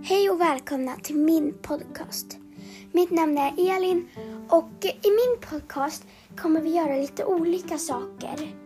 Hej och välkomna till min podcast. Mitt namn är Elin och i min podcast kommer vi göra lite olika saker.